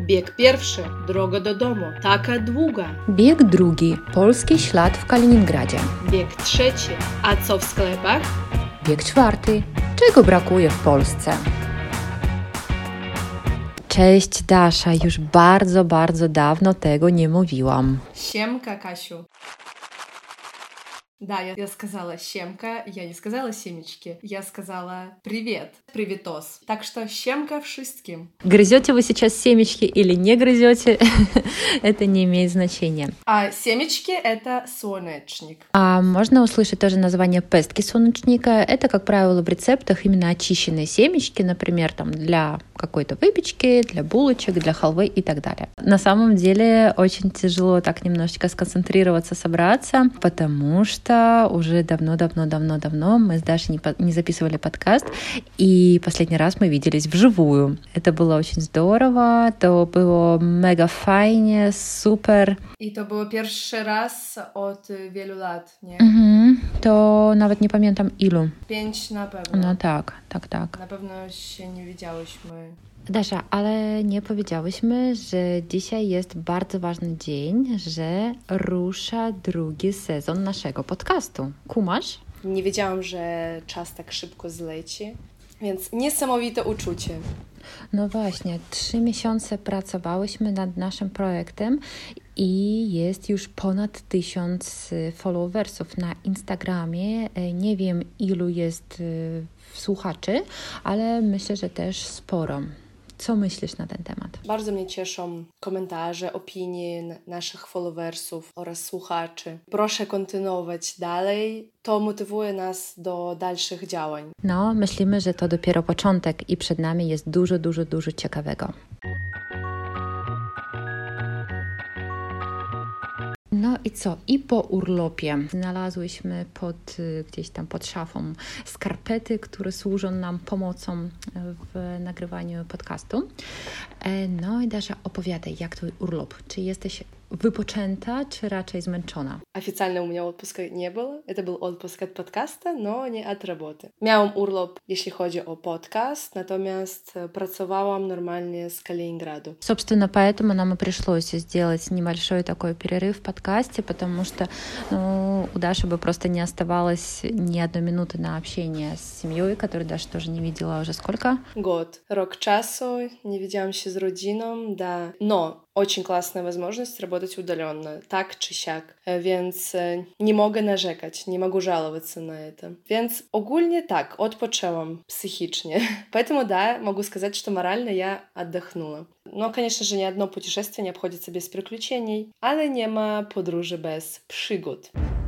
Bieg pierwszy, droga do domu, taka długa. Bieg drugi, polski ślad w Kaliningradzie. Bieg trzeci, a co w sklepach? Bieg czwarty, czego brakuje w Polsce? Cześć Dasza, już bardzo dawno tego nie mówiłam. Siemka, Kasiu. Да, я сказала «щемка», я не сказала «семечки», я сказала «привет», «приветос». Так что щемка wszystkim. Грызете вы сейчас семечки или не грызете, это не имеет значения. А семечки — это солнечник. А можно услышать тоже название пестки солнечника. Это, как правило, в рецептах именно очищенные семечки, например, там для какой-то выпечки, для булочек, для халвы и так далее. На самом деле очень тяжело так немножечко сконцентрироваться, собраться, потому что уже давно мы с Дашей не записывали подкаст, и последний раз мы виделись вживую. Это было очень здорово, to było mega fajnie, super. I to było pierwszy raz od wielu lat, nie? To nawet nie pamiętam ilu. 5 na pewno. No tak. Na pewno się nie widziałyśmy. Dasza, ale nie powiedziałyśmy, że dzisiaj jest bardzo ważny dzień, że rusza drugi sezon naszego podcastu. Kumasz? Nie wiedziałam, że czas tak szybko zleci, więc niesamowite uczucie. No właśnie, 3 miesiące pracowałyśmy nad naszym projektem i jest już ponad 1000 followersów na Instagramie. Nie wiem, ilu jest słuchaczy, ale myślę, że też sporo. Co myślisz na ten temat? Bardzo mnie cieszą komentarze, opinie naszych followersów oraz słuchaczy. Proszę kontynuować dalej. To motywuje nas do dalszych działań. No, myślimy, że to dopiero początek i przed nami jest dużo ciekawego. No i co? I po urlopie znalazłyśmy gdzieś tam pod szafą skarpety, które służą nam pomocą w nagrywaniu podcastu. No i Dasza, opowiadaj, jak twój urlop? Czy jesteś wypoczęta, czy raczej zmęczona? Официально у меня отпуска не было. Это был отпуск от подкаста, но не от работы. Miałam urlop, jeśli chodzi o podcast, natomiast pracowałam нормально с Калининграду. Собственно, поэтому нам и пришлось сделать небольшой такой перерыв в подкасте, потому что у Даши бы просто не оставалось ни одной минуты на общение с семьей, которую Даша тоже не видела уже сколько? Год. Рok czasu, nie widziałam się z rodziną, да. Но очень классная возможность работать удаленно, так czy siak. Więc nie mogę narzekać, nie mogę жаловаться на это. Więc ogólnie tak, odpoczęłam psychicznie. Поэтому, да, могу сказать, что морально я отдохнула. No, конечно же, ни одно путешествие не обходится без приключений, ale nie ma podróży bez przygód.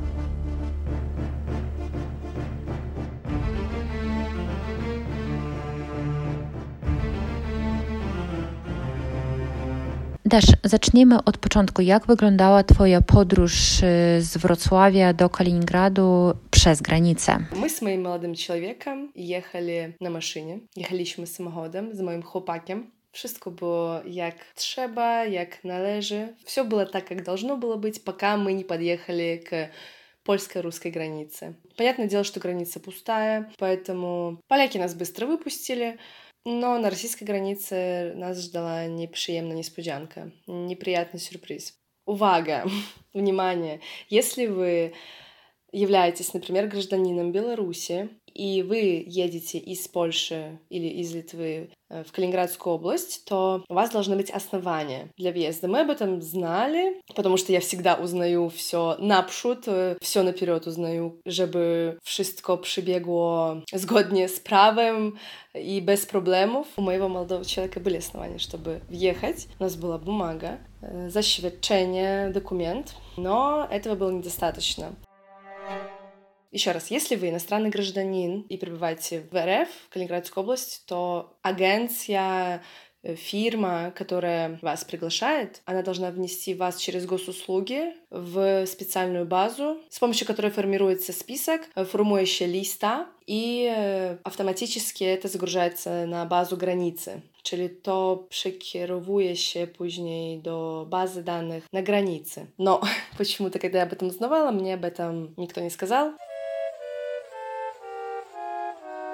Dasz, zacznijmy od początku. Jak wyglądała Twoja podróż z Wrocławia do Kaliningradu przez granicę? My z moim młodym człowiekiem jechali na maszynie. Jechaliśmy samochodem z moim chłopakiem. Wszystko było jak trzeba, jak należy. Все было так, как должно было быть, пока мы не подъехали к польско-русской границе. Понятное дело, что граница пустая, поэтому поляки нас быстро выпустили. Но на российской границе нас ждала неприятная несподянка, неприятный сюрприз. Увага! Внимание! Если вы являетесь, например, гражданином Беларуси, и вы едете из Польши или из Литвы в Калининградскую область, то у вас должны быть основания для въезда. Мы об этом знали, потому что я всегда узнаю все naprzód, все наперед узнаю, żeby wszystko przebiegło zgodnie z prawem и без проблемов. У моего молодого человека были основания, чтобы въехать. У нас была бумага, zaświadczenie, документ, но этого было недостаточно. Еще раз, если вы иностранный гражданин и пребываете в РФ, в Калининградскую область, то агенция, фирма, которая вас приглашает, она должна внести вас через госуслуги в специальную базу, с помощью которой формируется список, формующая листа, и автоматически это загружается na базу granicy. Czyli to przekierowuje się później do bazy danych na granicy. Но почему-то, когда я об этом узнавала, мне об этом никто не сказал.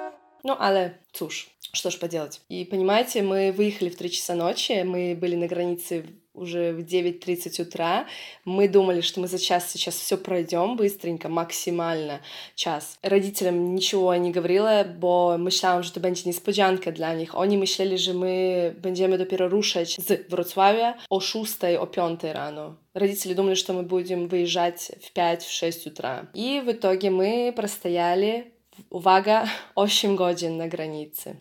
Ну, ale cóż, что ж поделать. И понимаете, мы выехали в 3 часа ночи, мы были на границе уже в 9:30 утра. Мы думали, что мы за час сейчас все пройдем быстренько, максимально час. Родителям nичего nie говорила, bo myślałam, że to będzie niespodzianka dla nich. Oni myśleli, że my będziemy dopiero ruszać z Wrocławia o 6, o 5 rano. Родители думали, что мы будем выезжать в 5-6 утра. И в итоге мы простояли, uwaga, 8 godzin na granicy.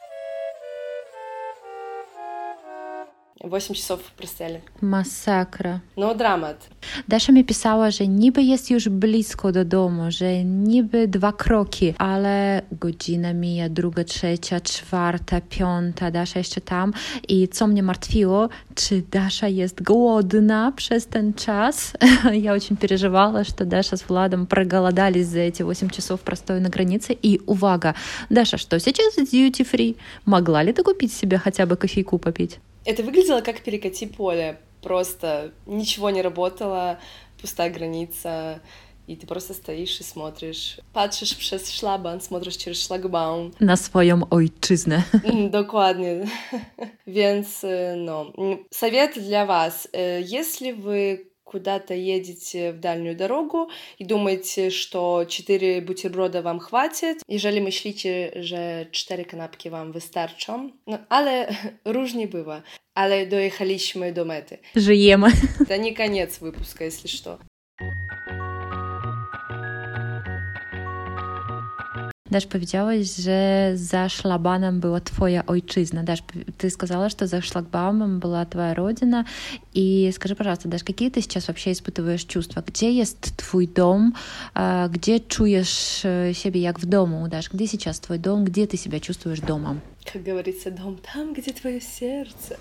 8 часов простояли. Masakra. No dramat. Dasza mi pisała, że niby jest już blisko do domu, że niby 2 kroki, ale godzina mija, 2, 3, 4, 5, Dasza jeszcze tam. I co mnie martwiło, czy Dasza jest głodna przez ten czas? Я очень переживала, что Даша с Владом проголодались за эти 8 часов простоя на границе. И, увага, Даша, что сейчас duty free? Могла ли ты купить себе хотя бы кофейку попить? Это выглядело как перекати поле. Просто ничего не работало, пустая граница, и ты просто стоишь и смотришь. Patrzysz przez szlaban, смотришь через szlagbaum. Na swoją ojczyznę. Dokładnie. Więc, no, совет для вас. Если вы куда-то едете в дальнюю дорогу и думаете, что 4 бутерброda wam chwatit, jeżeli myślicie, że 4 kanapki wam wystarczą, no ale różnie bywa. Ale dojechaliśmy do mety. Żyjemy. To nie koniec wypuska, jeśli что. Dasz, powiedziałeś, że za szlabanem była twoja ojczyzna. Dasz, ты сказала, что за шлагбаумом была твоя родина. И скажи, пожалуйста, Даш, какие ты сейчас вообще испытываешь чувства? Где есть твой дом? Где чуешь себя как в дому, Даш? Где сейчас твой дом? Где ты себя чувствуешь домом? Как говорится, дом там, где твое сердце.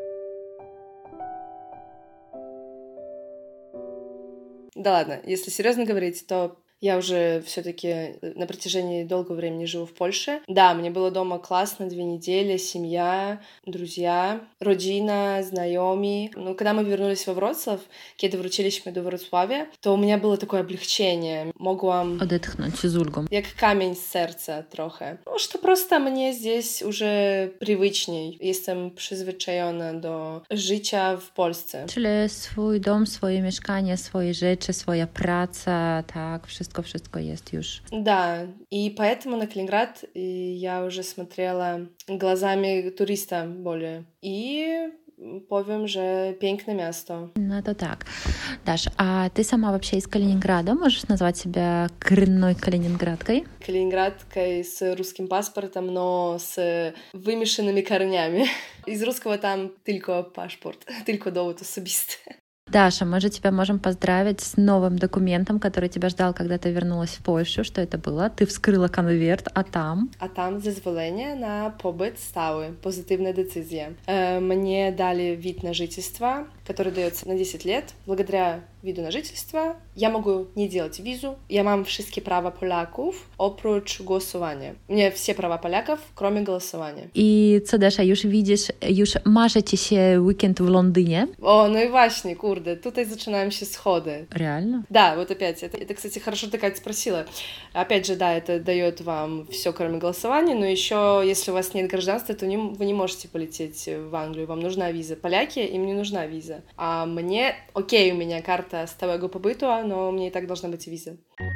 Да ладно, если серьезно говорить, то я уже все-таки на протяжении долгого времени живу в Польше. Да, мне было дома классно, 2 недели, семья, друзья, rodzina, znajomi. Но когда мы вернулись во Wrocław, kiedy wróciliśmy do Wrocławia, to у меня было такое облегчение. Mogłam odetchnąć z ulgą. Jak kamień z serca trochę. No, что просто мне здесь уже привычней. Jestem przyzwyczajona do życia w Polsce. Czyli swój dom, swoje mieszkanie, swoje rzeczy, swoja praca, tak, wszystko jest już. Да, и поэтому на Калининград я уже смотрела глазами туриста более. И powiem, że piękne miasto. No to tak. Dasz, a ty sama вообще из Калининграда? Можешь назвать себя коренной калининградкой? Калининградкой с русским паспортом, но с вымешанными корнями. Из русского там tylko paszport, tylko dowód osobisty. Даша, мы же тебя можем поздравить с новым документом, который тебя ждал, когда ты вернулась в Польшу. Что это было? Ты вскрыла конверт, а там? A tam zezwolenie na pobyt stały, pozytywne decyzje. Мне дали вид на жительство, который дается на 10 лет. Благодаря виду на жительство я могу не делать визу. Я mam wszystkie prawa Polaków, oprócz głosowania. Mnie все права Поляков, кроме голосования. I co, Dasza, już widzisz, już marzycie się weekend w Londynie? О, ну и właśnie, kurde, tutaj zaczynają się schody. Реально? Да, вот опять, это, кстати, хорошо ты, Катя, спросила. Опять же, да, это дает вам все, кроме голосования, но еще, если у вас нет гражданства, то вы не можете полететь в Англию, вам нужна виза. Поляки, им не нужна виза. А мне, окей, у меня карта stałego pobytu, no mnie i tak должна być wiza.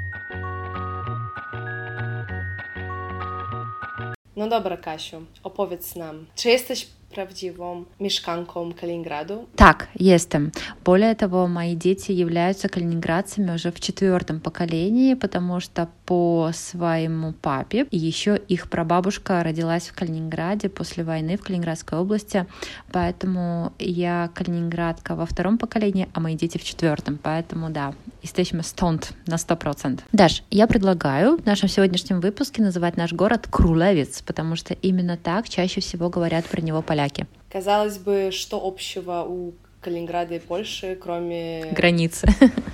No dobra, Kasiu, opowiedz nam, czy jesteś prawdziwą mieszkanką Калининграду? Так, jestem. Более того, мои дети являются калининградцами уже в 4-м поколении, потому что по своему папе еще их прабабушка родилась в Калининграде после войны в Калининградской области, поэтому я калининградка во 2-м поколении, а мои дети в 4-м, поэтому да, jesteśmy stąd на 100%. Даш, я предлагаю в нашем сегодняшнем выпуске называть наш город Крулевец, потому что именно так чаще всего говорят про него поляки. Казалось бы, что общего у Калининграда и Польши, кроме... Границы.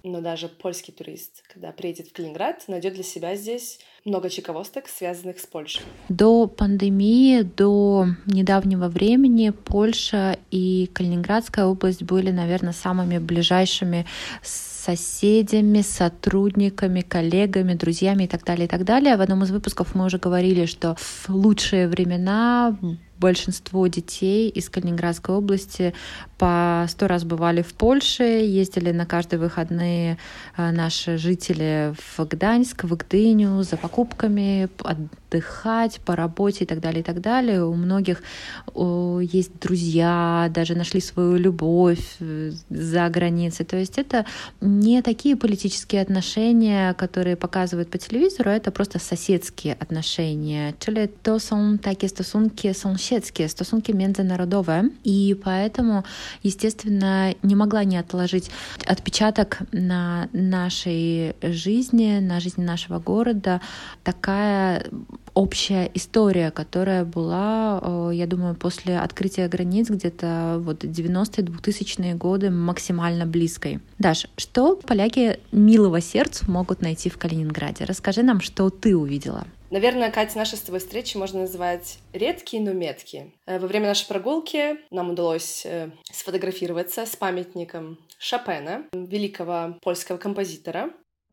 но даже польский турист, когда приедет в Калининград, найдет для себя здесь много чековосток, связанных с Польшей. До пандемии, до недавнего времени Польша и Калининградская область были, наверное, самыми ближайшими соседями, сотрудниками, коллегами, друзьями и так далее, и так далее. В одном из выпусков мы уже говорили, что в лучшие времена большинство детей из Калининградской области по 100 раз бывали в Польше, ездили на каждые выходные наши жители в Гданьск, в Гдыню за покупками, отдыхать по работе и так далее, и так далее. У многих есть друзья, даже нашли свою любовь за границей. То есть это не такие политические отношения, которые показывают по телевизору, это просто соседские отношения. Czyli to są takie stosunki sąsiedzkie, stosunki międzynarodowe. И поэтому, естественно, не могла не отложить отпечаток на нашей жизни, на жизни нашего города такая общая история, которая была, я думаю, после открытия границ где-то вот 90-е, 2000-е годы максимально близкой. Даш, что поляки милого сердцу могут найти в Калининграде? Расскажи нам, что ты увидела. Наверное, Катя, наши с тобой встречи можно назвать редкие, но меткие. Во время нашей прогулки нам удалось сфотографироваться с памятником Шопена, великого польского композитора.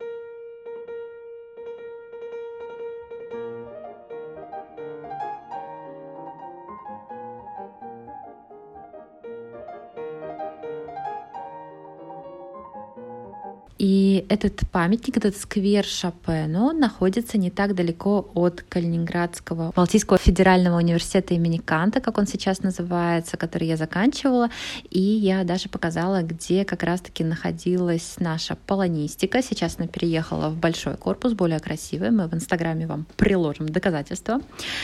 И этот памятник, этот сквер Шопену находится не так далеко от Калининградского Балтийского федерального университета имени Канта, как он сейчас называется, который я заканчивала. И я даже показала, где как раз-таки находилась наша полонистика. Сейчас она переехала в большой корпус, более красивый. Мы в Инстаграме вам приложим доказательства.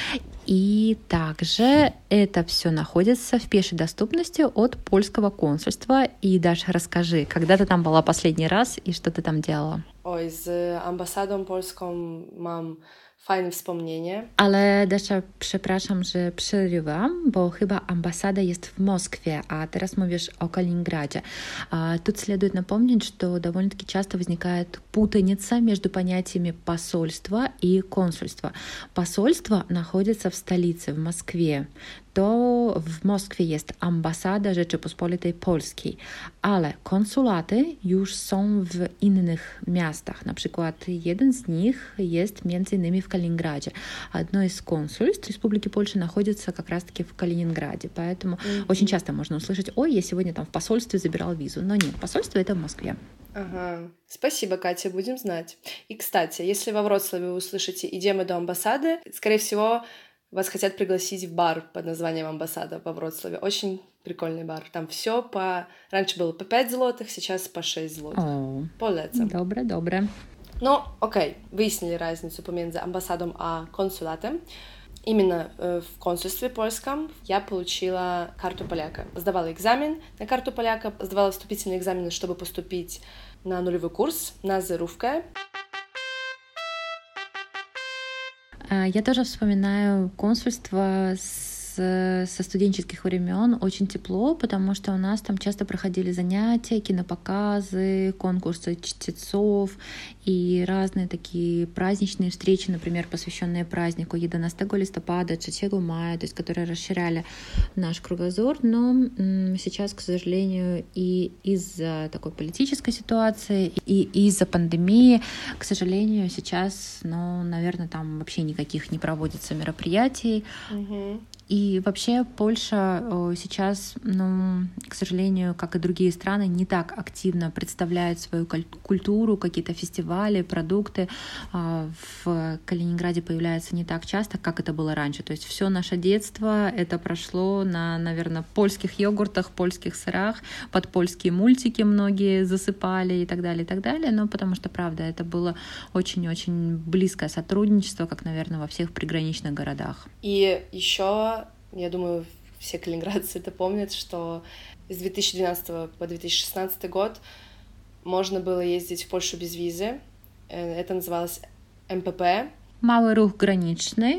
И также это все находится в пешей доступности от польского консульства. И, Даша, расскажи, когда ты там была последний раз и что ты tam działała? Oj, z ambasadą polską mam fajne wspomnienie. Ale Dasza, przepraszam, że przerywam, bo chyba ambasada jest w Moskwie, a teraz mówisz о Калининграде. Тут следует напомнить, что довольно-таки часто возникает путаница между понятиями посольства и консульства. Посольство находится в столице, в Москве. To w Moskwie jest ambasada Rzeczypospolitej Polskiej, ale konsulaty już są w innych miastach. Na przykład jeden z nich jest między innymi w Kaliningradzie. Одно из консульств Республики Польша находится как раз-таки в Калининграде. Поэтому очень часто можно услышать: ой, я сегодня там в посольстве забирал визу. Но нет, посольство это в Москве. Ага. Спасибо, Катя, будем знать. И, кстати, если во Вроцлаве вы услышите «Идем до амбассады», скорее всего, вас хотят пригласить в бар под названием «Амбассада» во Вроцлаве. Очень прикольный бар. Там все по... Раньше было по 5 злотых, сейчас по 6 злотых. Полецam. Dobre. No, okej, wyjaśnili разницу pomiędzy ambasadą a konsulatem. Именно в консульстве польском я получила карту поляка. Сдавала экзамен на карту поляка, сдавала вступительные экзамены, чтобы поступить на нулевой курс, на зерувка. Я тоже вспоминаю консульство со студенческих времен очень тепло, потому что у нас там часто проходили занятия, кинопоказы, конкурсы чтецов и разные такие праздничные встречи, например, посвященные празднику 11 листопада, 3 мая, то есть которые расширяли наш кругозор. Но сейчас, к сожалению, и из-за такой политической ситуации, и из-за пандемии, к сожалению, сейчас, наверное, там вообще никаких не проводится мероприятий. И вообще Польша сейчас, к сожалению, как и другие страны, не так активно представляет свою культуру, какие-то фестивали, продукты в Калининграде появляются не так часто, как это было раньше. То есть все наше детство это прошло на, наверное, польских йогуртах, польских сырах, под польские мультики многие засыпали и так далее, но потому что, правда, это было очень-очень близкое сотрудничество, как, наверное, во всех приграничных городах. И еще я думаю, все калининградцы это помнят, что с 2012 по 2016 год можно было ездить в Польшу без визы. Это называлось МПП. Малый рух граничный.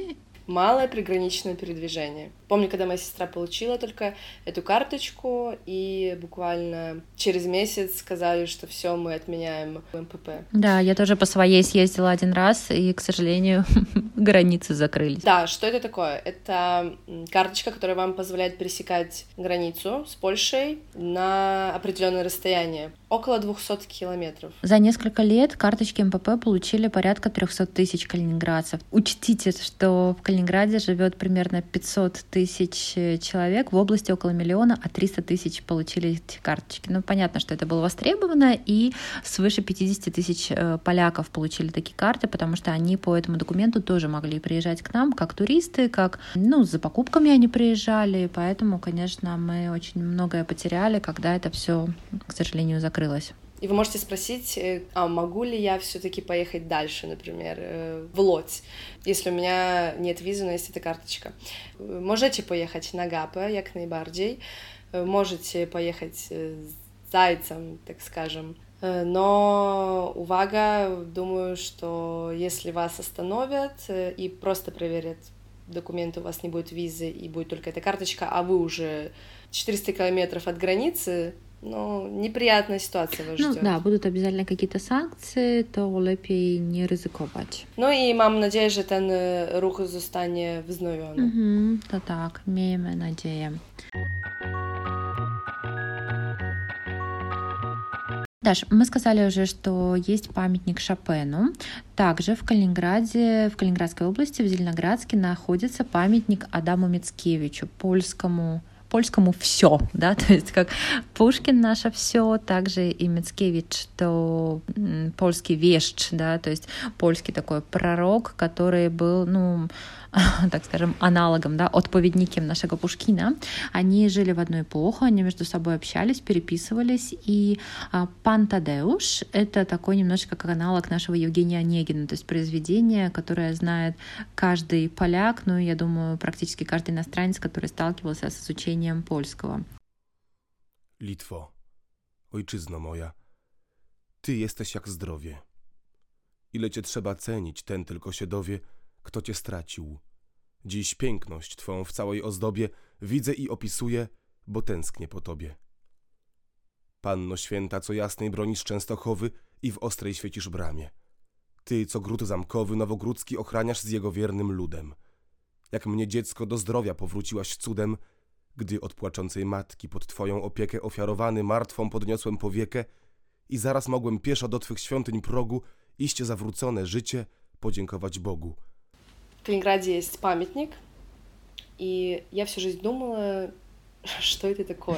малое приграничное передвижение. Помню, когда моя сестра получила только эту карточку, и буквально через месяц сказали, что все, мы отменяем МПП. Да, я тоже по своей съездила один раз, и, к сожалению, границы закрылись. Да, что это такое? Это карточка, которая вам позволяет пересекать границу с Польшей на определенное расстояние, около 200 километров. За несколько лет карточки МПП получили порядка 300 тысяч калининградцев. Учтите, что в Калининграде живет примерно 500 тысяч человек, в области около миллиона, а 300 тысяч получили эти карточки. Ну, понятно, что это было востребовано, и свыше 50 тысяч поляков получили такие карты, потому что они по этому документу тоже могли приезжать к нам как туристы, как, за покупками они приезжали, поэтому, конечно, мы очень многое потеряли, когда это все, к сожалению, закрылось. И вы можете спросить, могу ли я все-таки поехать дальше, например, в Лодзь, если у меня нет визы, но есть эта карточка. Можете поехать на Гапе, як найbardziej, можете поехать с зайцем, так скажем. Но, увага, думаю, что если вас остановят и просто проверят документы, у вас не будет визы и будет только эта карточка, а вы уже 400 километров от границы, неприятная ситуация вас ждет. Да, будут обязательно какие-то санкции, то lepiej nie ryzykować. I mam nadzieję, że ten ruch zostanie wznowiony. To tak, miejmy nadzieję. Даш, мы сказали уже, что есть памятник Шопену. Также в Калининградской области, в Зеленоградске, находится памятник Адаму Мицкевичу, польскому все, да, то есть как Пушкин наше все, также и Мицкевич, то польский вещь, да, то есть польский такой пророк, который был, так скажем, аналогом, да, отповедником нашего Пушкина. Они жили в одну эпоху, они между собой общались, переписывались, и Пан Тадеуш — это такой немножечко как аналог нашего Евгения Онегина, то есть произведение, которое знает каждый поляк, я думаю, практически каждый иностранец, который сталкивался с изучением польskiego. Litwo, ojczyzno moja, ty jesteś jak zdrowie. Ile cię trzeba cenić, ten tylko się dowie, kto cię stracił. Dziś piękność twą w całej ozdobie widzę i opisuję, bo tęsknię po tobie. Panno święta, co jasnej bronisz Częstochowy i w ostrej świecisz bramie. Ty, co gród zamkowy nowogródzki ochraniasz z jego wiernym ludem. Jak mnie dziecko do zdrowia powróciłaś cudem, gdy od płaczącej matki pod twoją opiekę ofiarowany martwą podniosłem powiekę i zaraz mogłem pieszo do twych świątyń progu iść zawrócone życie podziękować Bogu. В Калининграде есть памятник, и я всю жизнь думала, что это такое.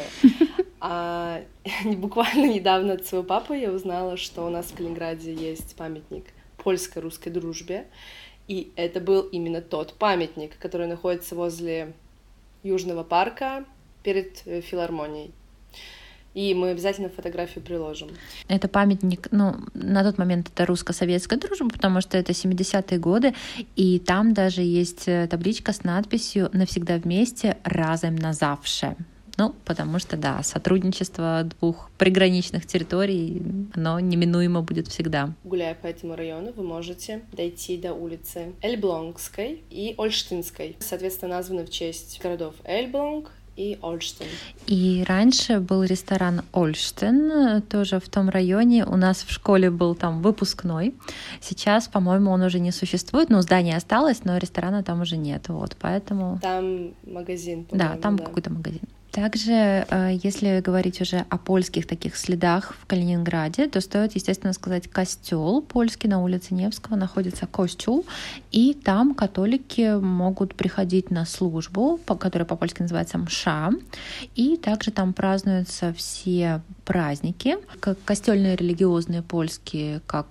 А буквально недавно от своего папы я узнала, что у нас в Калининграде есть памятник польско-русской дружбе, и это был именно тот памятник, который находится возле Южного парка перед филармонией. И мы обязательно фотографию приложим. Это памятник, на тот момент это русско-советская дружба, потому что это 70-е годы, и там даже есть табличка с надписью «Навсегда вместе, разом назавше». Потому что, да, сотрудничество двух приграничных территорий, оно неминуемо будет всегда. Гуляя по этому району, вы можете дойти до улицы Эльблонгской и Ольштинской, соответственно, названы в честь городов Эльблонг и Ольштин. И раньше был ресторан Ольштин, тоже в том районе. У нас в школе был там выпускной. Сейчас, по-моему, он уже не существует. Здание осталось, но ресторана там уже нет. Поэтому... Там магазин, по-моему. Да, там какой-то магазин. Также, если говорить уже о польских таких следах в Калининграде, то стоит, естественно, сказать костел польский на улице Невского, находится костюл, и там католики могут приходить на службу, которая по-польски называется мша, и также там празднуются все праздники, как костельные религиозные польские, как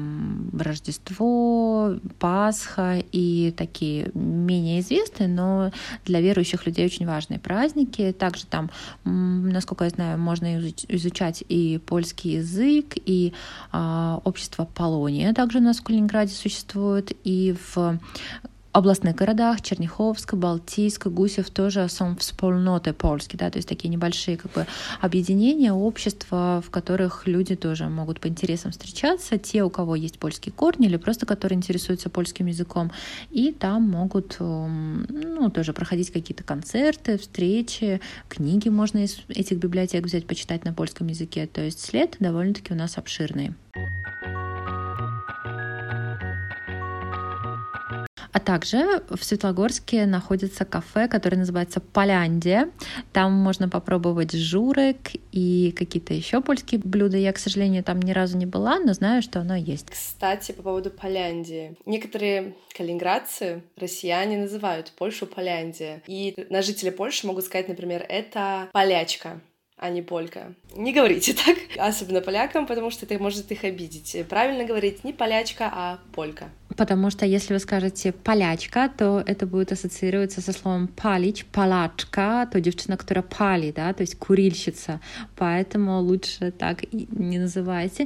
Рождество, Пасха и такие менее известные, но для верующих людей очень важные праздники. Также там, насколько я знаю, можно изучать и польский язык, и общество Полония также у нас в Калининграде существует, и в областных городах, Черняховск, Балтийск, Гусев тоже są wspólnoty polskie, да, то есть такие небольшие как бы объединения, общества, в которых люди тоже могут по интересам встречаться, те, у кого есть польские корни или просто которые интересуются польским языком, и там могут, ну, тоже проходить какие-то концерты, встречи, книги можно из этих библиотек взять, почитать на польском языке, то есть след довольно-таки у нас обширный. А также в Светлогорске находится кафе, которое называется Поляндия. Там можно попробовать журек и какие-то еще польские блюда. Я, к сожалению, там ни разу не была, но знаю, что оно есть. Кстати, по поводу Поляндии. Некоторые калининградцы, россияне, называют Польшу Поляндия. И на жители Польши могут сказать, например, это полячка, а не полька. Не говорите так, особенно полякам, потому что это может их обидеть. Правильно говорить не полячка, а полька. Потому что если вы скажете полячка, то это будет ассоциироваться со словом палич, палачка, то девчина, которая пали, да, то есть курильщица. Поэтому лучше так и не называйте.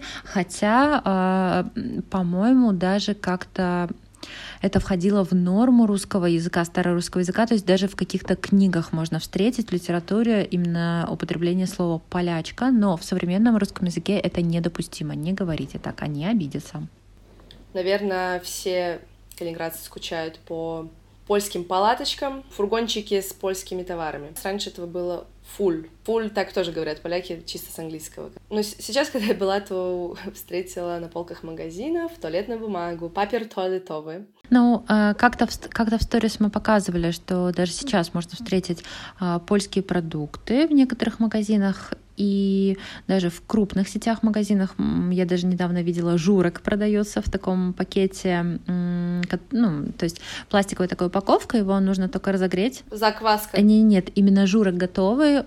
Хотя, по-моему, даже как-то это входило в норму русского языка, старорусского языка, то есть даже в каких-то книгах можно встретить в литературе именно употребление слова «полячка», но в современном русском языке это недопустимо, не говорите так, они обидятся. Наверное, все калининградцы скучают по польским палаточкам, фургончики с польскими товарами. Раньше этого было фуль. Фуль так тоже говорят поляки, чисто с английского. Но сейчас, когда я была, то встретила на полках магазинов туалетную бумагу, папер туалетовый. Ну, как-то в сторис мы показывали, что даже сейчас можно встретить польские продукты в некоторых магазинах, и даже в крупных сетях магазинах. Я даже недавно видела, журек продается в таком пакете, ну, то есть пластиковая такая упаковка, его нужно только разогреть. Закваска. Нет, именно журек готовый,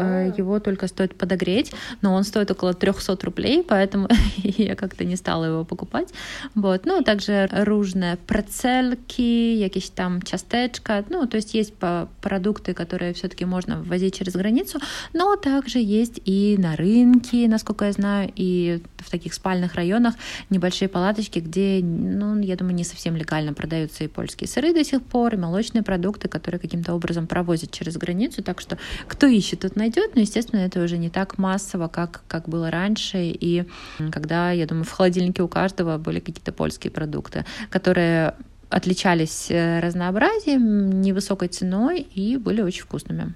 его только стоит подогреть, но он стоит около 300 рублей, поэтому я как-то не стала его покупать. Вот. Ну, также różne прецельки, якісь там ciasteczka, ну, то есть есть продукты, которые все-таки можно ввозить через границу, но также есть и на рынке, насколько я знаю, и в таких спальных районах небольшие палаточки, где, ну, я думаю, не совсем легально продаются и польские сыры до сих пор, и молочные продукты, которые каким-то образом провозят через границу, так что кто ищет, тот найдет, но, естественно, это уже не так массово, как было раньше, и когда, я думаю, в холодильнике у каждого были какие-то польские продукты, которые отличались разнообразием, невысокой ценой и были очень вкусными.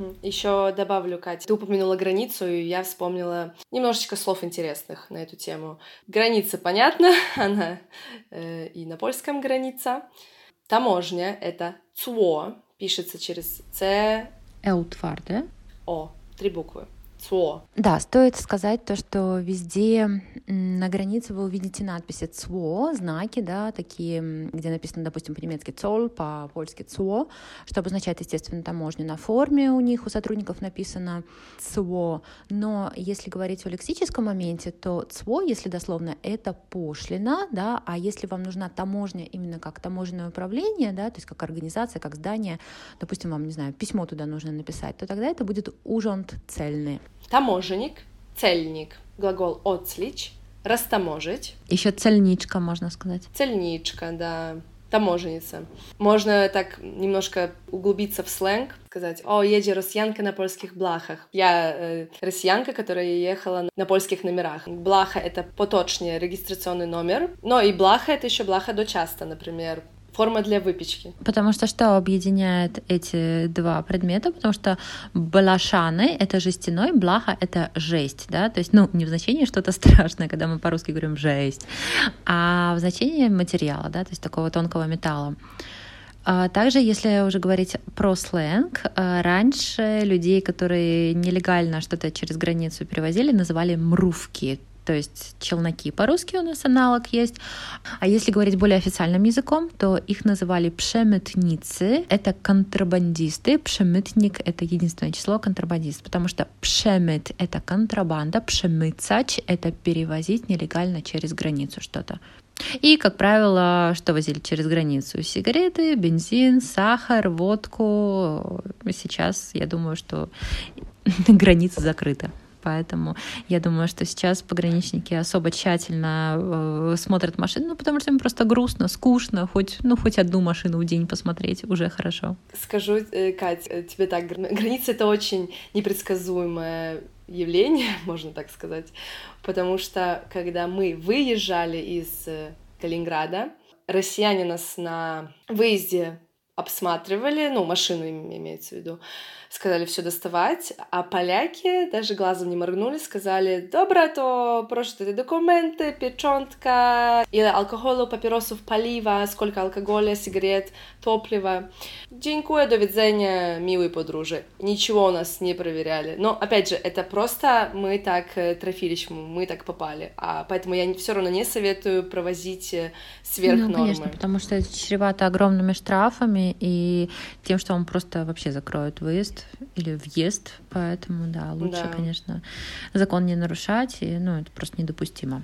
Еще добавлю, Катя, ты упомянула границу, и я вспомнила немножечко слов интересных на эту тему. Граница, понятно, она и на польском граница. Таможня — это ЦУО, пишется через Ц... Эутварде. О, 3 буквы. ЦУО. Да, стоит сказать то, что везде на границе вы увидите надписи ЦУО, знаки, да, такие, где написано, допустим, по-немецки «цоль», по-польски «ЦУО», что обозначает, естественно, таможню. На форме у них, у сотрудников написано ЦУО, но если говорить о лексическом моменте, то ЦУО, если дословно, это пошлина, да, а если вам нужна таможня именно как таможенное управление, да, то есть как организация, как здание, допустим, вам, не знаю, письмо туда нужно написать, то тогда это будет «ужонт цельный». Таможенник, цельник, глагол «отслич», растаможить. Еще цельничка, можно сказать. Цельничка, да. Таможенница. Можно так немножко углубиться в сленг, сказать: «О, едет россиянка на польских блахах». Я россиянка, которая ехала на польских номерах. Блаха — это поточный регистрационный номер, но и блаха — это еще блаха дочаста, например. Форма для выпечки. Потому что что объединяет эти два предмета? Потому что блашаны — это жестяной, блаха — это жесть, да, то есть, ну, не в значении что-то страшное, когда мы по-русски говорим «жесть», а в значении материала, да, то есть такого тонкого металла. Также, если уже говорить про сленг, раньше людей, которые нелегально что-то через границу перевозили, называли мрувки, то есть челноки по-русски у нас аналог есть. А если говорить более официальным языком, то их называли пшемытницы, это контрабандисты, пшемытник — это единственное число контрабандист, потому что пшемыт — это контрабанда, пшемыцач — это перевозить нелегально через границу что-то. И, как правило, что возили через границу? Сигареты, бензин, сахар, водку. Сейчас, я думаю, что граница закрыта поэтому я думаю, что сейчас пограничники особо тщательно смотрят машины, потому что им просто грустно, скучно, хоть одну машину в день посмотреть уже хорошо. Скажу, Кать, тебе так, граница — это очень непредсказуемое явление, можно так сказать, потому что когда мы выезжали из Калининграда, россияне нас на выезде обсматривали, машину имеется в виду, сказали все доставать, а поляки даже глазом не моргнули, сказали: "Dobra, to proszę te dokumenty, pieczątka, ile alkoholu, papierosów, paliwa, сколько алкоголя, сигарет, топлива. Dziękuję, до widzenia, милые подружи". Ничего у нас не проверяли. Но, опять же, это просто мы так трофились, мы так попали. Поэтому я все равно не советую провозить сверх нормы. Конечно, потому что это чревато огромными штрафами и тем, что вам просто вообще закроют выезд или въезд, поэтому, да, лучше, конечно, закон не нарушать, и, это просто недопустимо.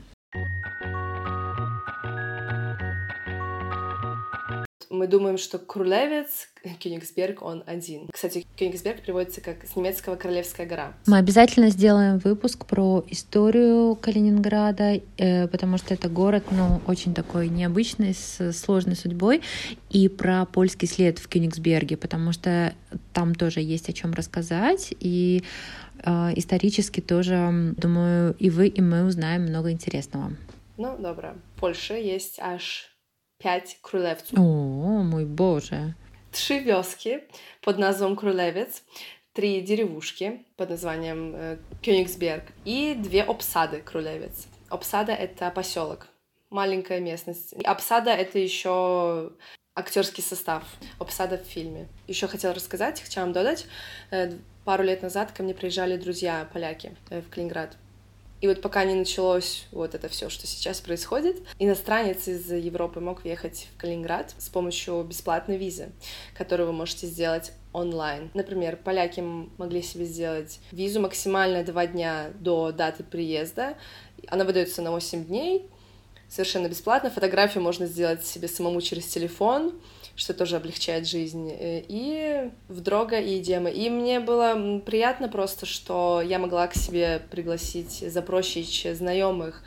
Мы думаем, что Крулевец, Кёнигсберг, он один. Кстати, Кёнигсберг переводится как с немецкого «Королевская гора». Мы обязательно сделаем выпуск про историю Калининграда, потому что это город, очень такой необычный, с сложной судьбой, и про польский след в Кёнигсберге, потому что там тоже есть о чем рассказать, и исторически тоже, думаю, и вы, и мы узнаем много интересного. Добре. В Польше есть аж 5 крólewców. О, мой боже. 3 wioski под названием Крулевец, 3 деревушки под названием Кёнигсберг и 2 обсады Крулевец. Обсада — это поселок, маленькая местность. Обсада — это еще актерский состав. Обсада в фильме. Еще хотела вам додать. Пару лет назад ко мне приезжали друзья поляки в Калининград. И вот пока не началось вот это все, что сейчас происходит, иностранец из Европы мог въехать в Калининград с помощью бесплатной визы, которую вы можете сделать онлайн. Например, поляки могли себе сделать визу максимально 2 дня до даты приезда. Она выдается на 8 дней, совершенно бесплатно. Фотографию можно сделать себе самому через телефон, что тоже облегчает жизнь. И в дрога, и идем. И мне было приятно просто, что я могла к себе пригласить, запросить знайомых,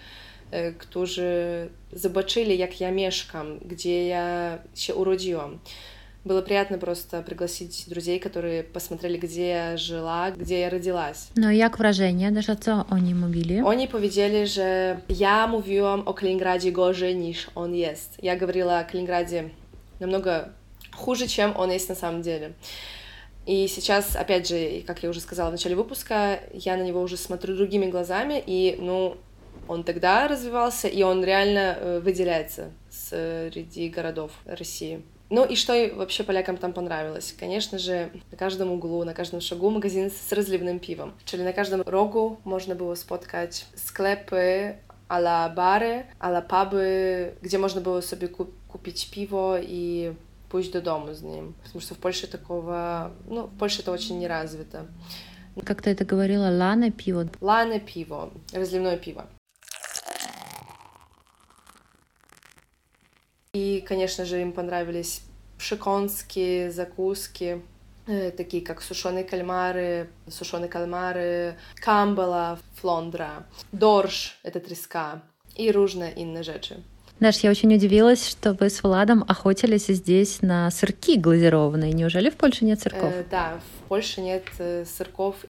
którzy zobaczyli, jak ja mieszkam, gdzie я się urodziłam. Было приятно просто пригласить друзей, которые посмотрели, где я жила, где я родилась. No jak wrażenie? Даже co oni mówili? Oni powiedzieli, że ja mówiłam o Kaliningradzie gorzej niż on jest. Я говорила о Калининграде намного хуже, чем он есть на самом деле. И сейчас, опять же, как я уже сказала в начале выпуска, я на него уже смотрю другими глазами, и, он тогда развивался, и он реально выделяется среди городов России. И что вообще полякам там понравилось? Конечно же, на каждом углу, на каждом шагу магазин с разливным пивом. Czyli na każdym rogu można było spotkać sklepy a la bary, a la puby, gdzie można było sobie kupić piwo и pójść do domu z nim. Потому что в Польше такого... в Польше это очень не развито. Как ты это говорила? Лана пиво? Лана пиво. Разливное пиво. И, конечно же, им понравились przekąski, закуски, такие как сушеные кальмары, камбала, флондра, дорш — это треска, и różne inne rzeczy. Даш, я очень удивилась, что вы с Владом охотились здесь на сырки глазированные. Неужели в Польше нет сырков? Да, в Польше нет сырков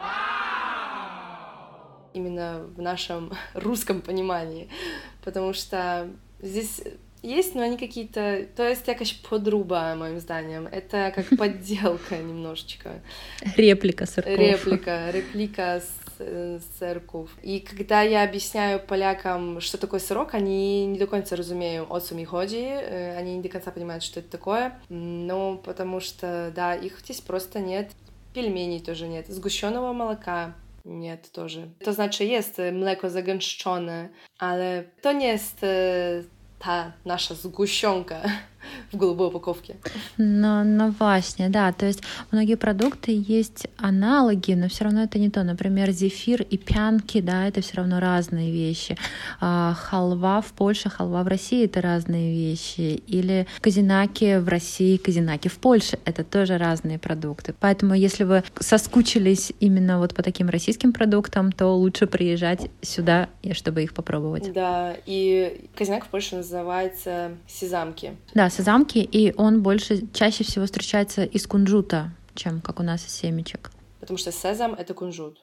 именно в нашем русском понимании, потому что здесь есть, но они какие-то... To jest jakaś podróba, moim zdaniem. Это как подделка немножечко. Реплика сырков. Реплика сырков. И когда я объясняю полякам, что такое сырок, они не до конца разумеют, о чем chodzi. Они не до конца понимают, что это такое. Потому что, да, их здесь просто нет. Пельменей тоже нет. Сгущенного молока нет тоже. To znaczy jest mleko zagęszczone, ale to nie jest ta nasza zgusionka. в голубой упаковке. Но właśnie, да, то есть многие продукты есть аналоги, но все равно это не то. Например, зефир и пянки, да, это все равно разные вещи. Халва в Польше, халва в России — это разные вещи. Или казинаки в России, казинаки в Польше — это тоже разные продукты. Поэтому если вы соскучились именно вот по таким российским продуктам, то лучше приезжать сюда, чтобы их попробовать. Да, и казинак в Польше называется сезамки. Да, сезамки, и он чаще всего встречается из кунжута, чем как у нас из семечек. Потому что сезам — это кунжут.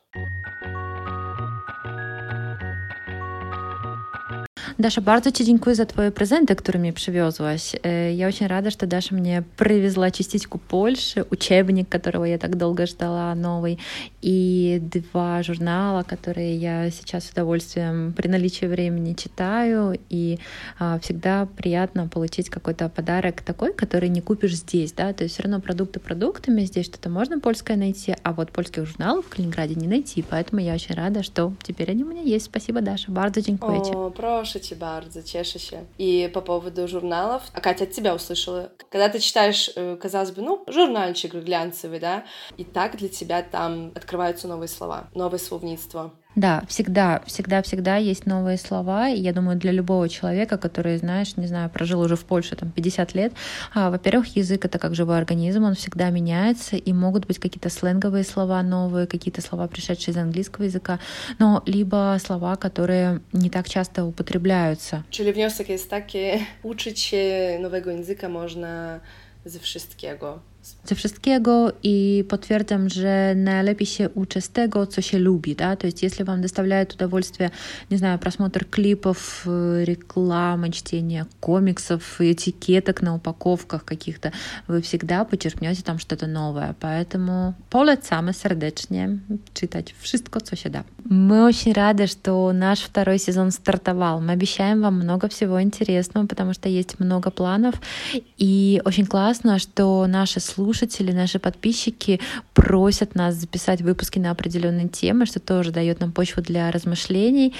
Dasza, bardzo Ci dziękuję za Twoje prezenty, które mi przywiozłaś. Я очень рада, что Даша мне привезла частичку Польши, учебник, которого я так долго ждала, новый, и 2 журнала, которые я сейчас с удовольствием при наличии времени читаю, и всегда приятно получить какой-то подарок такой, который не купишь здесь, да, то есть все равно продукты продуктами, здесь что-то можно польское найти, а вот польских журналов в Калининграде не найти, поэтому я очень рада, что теперь они у меня есть. Спасибо, Даша, bardzo dziękuję Ci. О, прошу тебя bardzo, cieszę się. И по поводу журналов, а Катя от тебя услышала. Когда ты читаешь, казалось бы, журнальчик глянцевый, да, и так для тебя там открываются новые слова, новое словництво. Да, всегда есть новые слова, и я думаю, для любого человека, который, знаешь, не знаю, прожил уже в Польше там 50 лет, во-первых, язык — это как живой организм, он всегда меняется, и могут быть какие-то сленговые слова новые, какие-то слова, пришедшие из английского языка, но либо слова, которые nie tak часто употребляются. Czyli wniosek jest taki, uczyć się nowego języka można ze wszystkiego. Ze wszystkiego i potwierdzam, że najlepiej się uczy z tego, co się lubi, да, то есть если вам доставляет удовольствие, не знаю, просмотр клипов, рекламы, чтение комиксов, этикеток на упаковках каких-то, вы всегда почерпнете там что-то новое, поэтому polecamy serdecznie czytać wszystko, co się da. Мы очень рады, что наш 2 сезон стартовал. Мы обещаем вам много всего интересного, потому что есть много планов, и очень классно, что наши слушатели, наши подписчики просят нас записать выпуски на определенные темы, что тоже дает нам почву для размышлений.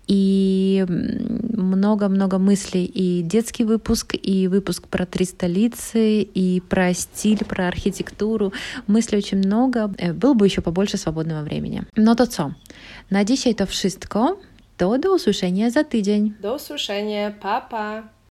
И много-много мыслей. И детский выпуск, и выпуск про 3 столицы, и про стиль, про архитектуру. Мыслей очень много. Было бы еще побольше свободного времени. No to co? Na dzisiaj to wszystko. To do usłyszenia za tydzień. Do usłyszenia. Pa, pa.